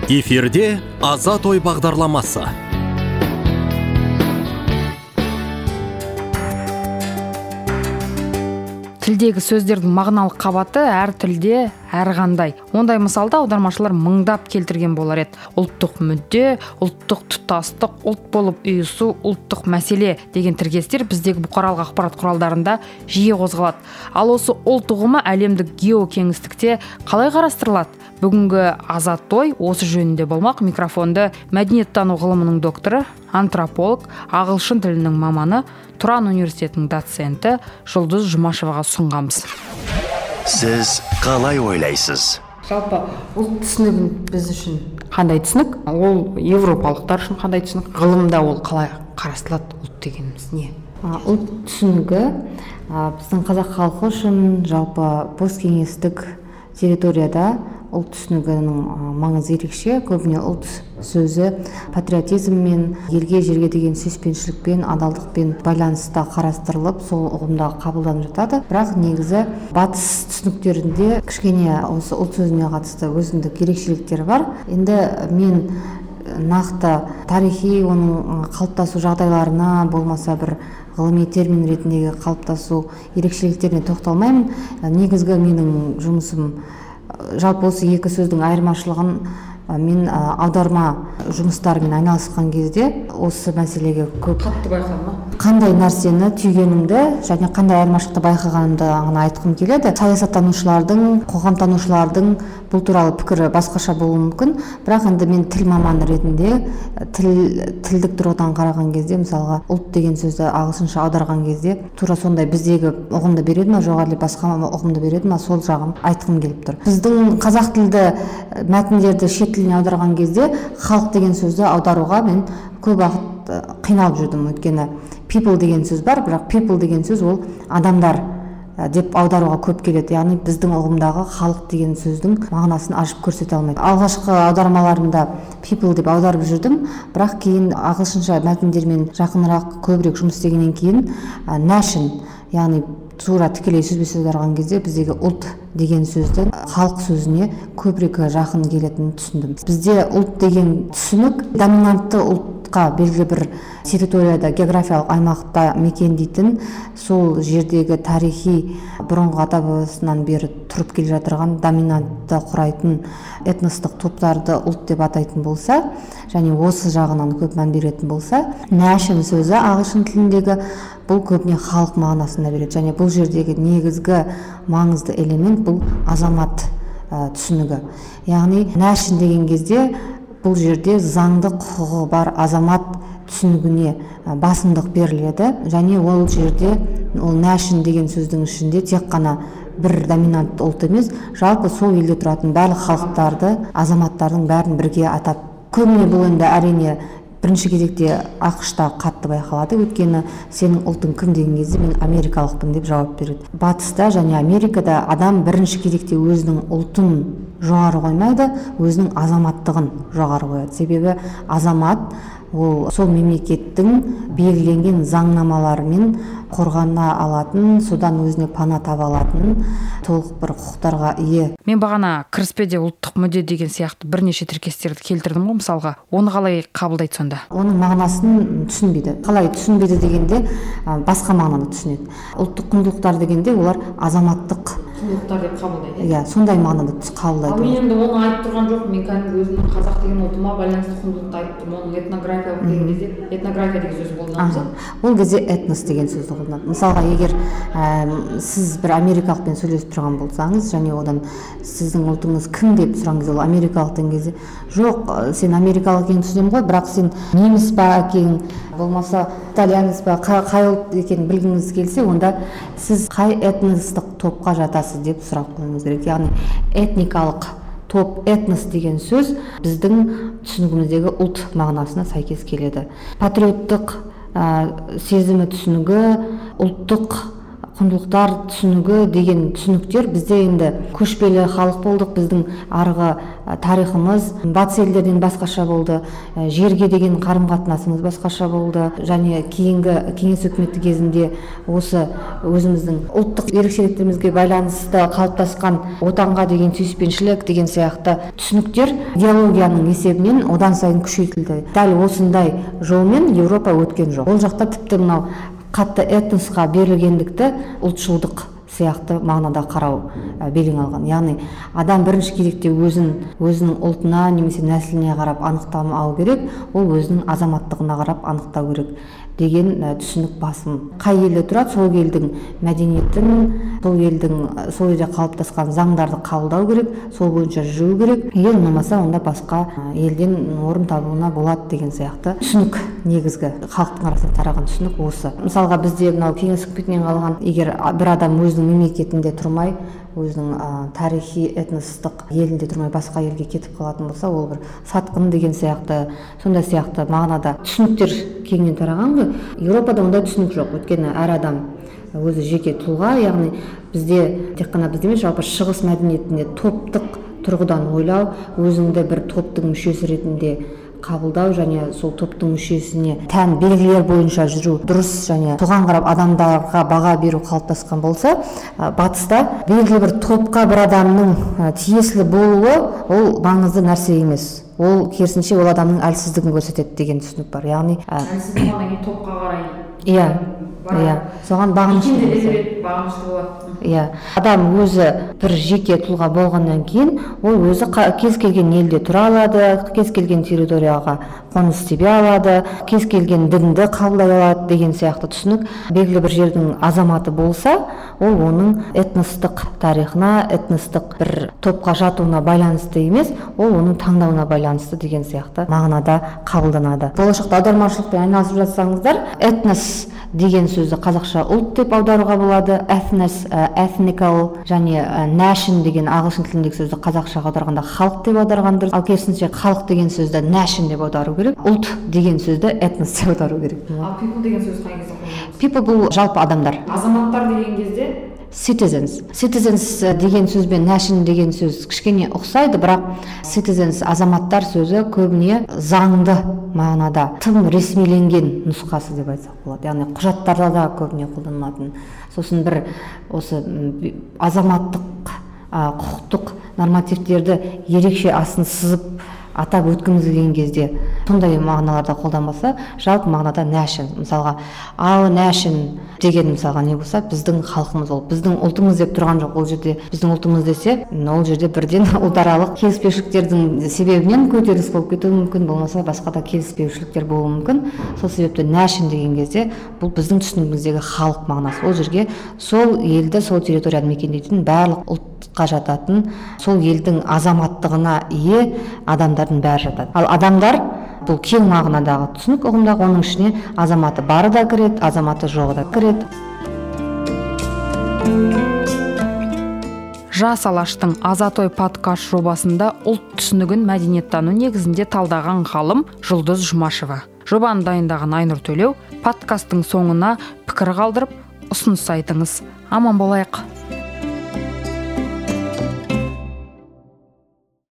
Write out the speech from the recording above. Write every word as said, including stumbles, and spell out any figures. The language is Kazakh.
Эфирде Азат ой бағдарламасы. Тілдегі сөздердің мағыналық қабаты әр тілде әр қандай. Ондай мысалда аудармашылар мыңдап келтірген болар еді. Ұлттық мүдде, ұлттық тұтастық, ұлт болып ұйысу, ұлттық мәселе деген тіркестер біздегі бұқаралық ақпарат құралдарында жиі қозғалады. Ал осы ұлт ұғымы әлемдік геокеңістікте қалай қарастырылады? Бүгінгі Азат ой осы жөнінде болмақ. Микрофонды мәдениеттану ғылымының докторы, антрополог, ағылшын тілінің маманы, Тұран университетінің доценті Жұлдыз Жұмашеваға сұнғанбыз. Сіз қалай ойлайсыз? Жалпы ұлт түсінігін біз үшін қандай түсінік? Ол европалықтар үшін қандай түсінік? Ғылымда ол қалай қарастырылады? Ұлт дегеніміз не? Ұлт түсінігі біздің қазақ халқы үшін жалпы посткеңестік территорияда ұлт түсінігінің маңызы ерекше. Көбіне ұлт сөзі патриотизммен, елге жерге деген сүйіспеншілікпен, адалдықпен байланыста қарастырылып, сол ұғымда қабылданып жатады. Бірақ негізі батыс түсініктерінде кішкене осы ұлт сөзіне қатысты өзіндік ерекшеліктері бар. Енді мен нақты тарихи оның қалыптасу жағдайларына, болмаса бір ғылыми термин ретіндегі қалыптасу ерекшеліктеріне тоқталмаймын. Негізгі менің жұмысым жалпы осы екі сөздің айырмашылығын мен аударма жұмыстарымен айналысқан кезде осы мәселеге көп қатты байқадым. Қандай нәрсені түйгенімді және қандай айырмашылықты байқағанымды ғана айтқым келеді. Саясаттанушылардың, қоғамтанушылардың бұл туралы пікірі басқаша болуы мүмкін, бірақ енді мен тіл маманы ретінде тіл тілдік тұрғыдан қараған кезде, мысалға ұлт деген сөзді ағылшынша аударған кезде тура сондай біздегі ұғымды береді ме, жоқ әлде басқа ұғымды береді ме, сол жағын айтқым келіп тұр. Біздің қазақ тілді мәтіндерді шет тіліне аударған кезде халық деген сөзді аударуға мен көп уақыт қиналып жүрдім. Өйткені people деген сөз бар, бірақ people деген сөз ол адамдар деп аударуға көп келеді. Яғни біздің ұғымдағы халық деген сөздің мағынасын ашып көрсете алмайды. Алғашқы аудармаларымда people деп аударып жүрдім, бірақ кейін ағылшынша мәтіндермен жақынырақ көбірек жұмыс істегеннен кейін nation, яғни тура тікелей сөзбе-сөз аударған кезде біздегі ұлт деген сөздің халық сөзіне көбірек жақын келетінін түсіндім. Бізде ұлт деген түсінік доминантты ұлтқа белгілі бір территорияда, географиялық аймақта мекендейтін, сол жердегі тарихи бұрынғы ата-бабасынан бері тұрып келе жатырған доминантты құрайтын этностық топтарды ұлт деп атайтын болса, және осы жағынан көп мән беретін болса, nation сөзі ағылшын тіліндегі бұл көбіне халық мағынасында береді. Және бұл жердегі негізгі маңызды элемент бұл азамат ә, түсінігі. Яғни nation деген кезде бұл жерде заңды құқығы бар азамат түсінігіне басымдық беріледі. Және ол жерде ол nation деген сөздің ішінде тек қана бір доминантты ұлт емес, жалпы сол елде тұратын барлық халықтарды, азаматтардың бәрін бірге атап. Көбіне бұл енді әрине бірінші кезекте ақш-та қатты байқалады, өйткені сенің ұлтың кім деген кезде мен америкалықпын деп жауап береді. Батыста және Америкада адам бірінші кезекте өзінің ұлтын жоғары қоймайды, өзінің азаматтығын жоғары қояды. Себебі азамат ол сол мемлекеттің белгіленген заңнамаларымен қорғана алатын, содан өзіне пана таба алатын толық бір құқықтарға ие. Мен бағана кіріспеде ұлттық мүдде деген сияқты бірнеше тіркестерді келтірдім ғой, мысалға. Оны қалай қабылдайды сонда? Оның мағынасын түсінбейді. Қалай түсінбейді дегенде басқа мағынаны түсінеді. Ұлттық құндылықтар дегенде олар азаматтық құндылықтар деп қабылдайды. Иә, сондай мағынада қабылдайды. Ал мен енді оны айтып тұрған жоқпын. Мен кәдімгі өзімнің қазақ деген ұлтыма байланысты құндылықты айтып тұрмын. Оның этнографиялық деген кезде этнография деген сөз қолданамыз. Ол кезде этнос деген сөзді қолданады. Мысалға, егер ә, сіз бір америкалықпен сөйлесіп тұрған болсаңыз, және одан сіздің ұлтыңыз кім деп сұраған кезде, ол америкалық деген кезде, жоқ, сен америкалық екенін түсінемін ғой, бірақ сен неміс па екенін, болмаса итальянец па, қай ұлт екенін білгіңіз келсе, онда сіз қай этностық топқа жатасыз деп сұрап қоюыңыз керек. Яғни этникалық топ, этнос деген сөз біздің түсінігіміздегі ұлт мағынасына сәйкес келеді. Патриоттық ә, сезімі түсінігі, ұлттық құндылықтар түсінігі деген түсініктер бізде енді көшпелі халық болдық, біздің арғы тарихымыз батыс елдерден басқаша болды, жерге деген қарым-қатынасымыз басқаша болды, және кейінгі кеңес үкіметі кезінде осы өзіміздің ұлттық ерекшеліктерімізге байланысты қалыптасқан отанға деген сүйіспеншілік деген сияқты түсініктер идеологияның есебінен одан сайын күшейтілді. Дәл осындай жолмен Еуропа өткен жоқ. Ол жақта тіпті мынау қатты этносқа берілгендікті ұлтшылдық сияқты мағынада қарау белең алған. Яғни адам бірінші кезекте өзін өзінің ұлтына немесе нәсіліне қарап анықтамау керек, ол өзінің азаматтығына қарап анықтау керек деген түсінік басым. Қай елде тұрады, сол елдің мәдениетін, сол елдің сол елде қалыптасқан заңдарды қабылдау керек, сол бойынша жүру керек. Егер ұнамаса, онда басқа елден орын табуына болады деген сияқты түсінік, негізгі халықтың арасында тараған түсінік осы. Мысалға бізде мынау кеңес үкіметінен қалған, егер бір адам өзінің мемлекетінде тұрмай, өзінің ә, тарихи этностық елінде тұрмай басқа елге кетіп қалатын болса, ол бір сатқын деген сияқты, сондай сияқты мағынада түсініктер кеңінен тараған ғой. Еуропада ондай түсінік жоқ. Өйткені әр адам өзі жеке тұлға, яғни бізде тек қана бізде емес, жалпы шығыс мәдениетінде топтық тұрғыдан ойлау, өзіңді бір топтың мүшесі ретінде қабылдау және сол топтың мүшесіне тән белгілер бойынша жүру дұрыс, және соған қарап адамдарға баға беру қалыптасқан болса, батыста белгілі бір топқа бір адамның тиесілі болуы ол маңызды нәрсе емес. Ол керісінше ол адамның әлсіздігін көрсетеді деген түсінік бар. Яғни әлсіздік болғаннан топқа қарай. Иә, иә, соған бағынышты болады. Иә, адам өзі бір жеке тұлға болғаннан кейін, ол өзі кез келген елде тұра алады, кез келген территорияға қоныс тебе алады, кез келген дінді қабылдай алады деген сияқты түсінік. Белгілі бір жердің азаматы болса, ол оның этностық тарихына, этностық бір топқа жатуына байланысты емес, ол оның таңдауына байланысты деген сияқты мағынада қабылданады. Болашақта аудармашылықпен айналысып жатсаңыздар, этнос деген сөзді қазақша ұлт деп аударуға болады, ethnos, ethnical, және nation деген ағылшын тіліндегі сөзді қазақшаға аударғанда халық деп аударған дұрыс. Ал керісінше халық деген сөзді nation деп аудару керек, ұлт деген сөзді этнос деп аудару керек. Ал people деген сөз қай кезде қолданылады? People бұл жалпы адамдар. Азаматтар деген кезде Citizens. Citizens деген сөз бен nation деген сөз кішкене ұқсайды, бірақ citizens азаматтар сөзі көбіне заңды мағынада тым ресмиленген нұсқасы деп айтсақ болады. Яғни құжаттарда да көбіне қолданылатын. Сосын бір осы азаматтық, құқықтық нормативтерді ерекше асын сызып атап өткіміз келген кезде сондай мағыналарда қолданбаса, жалпы мағынада nation. Мысалға, our nation деген мысалға не болса, біздің халқымыз, ол біздің ұлтымыз деп тұрған жоқ. Ол жерде біздің ұлтымыз десе, ол жерде бірден ұлтаралық келіспеушіліктердің себебінен көтеріліс болып кетуі мүмкін, болмаса басқа да келіспеушіліктер болуы мүмкін. Сол себепті nation деген кезде бұл біздің түсінігіміздегі халық мағынасы. Ол жерге сол елді, сол территорияны мекендейтін барлық ұлтқа жататын, сол елдің азаматтығына ие адамдардың бәрі жатады. Ал адамдар бұл кең мағынадағы түсінік ұғымдағы, оның ішіне азаматы бары да кіреді, азаматы жоғы да кіреді. Жас алаштың Азат-ой подкаст жобасында ұлт түсінігін мәдениеттану негізінде талдаған ғалым Жұлдыз Жұмашева. Жобаны дайындаған Айнұр Төлеу. Подкасттың соңына пікір қалдырып, ұсыныс айтыңыз. Аман болайық.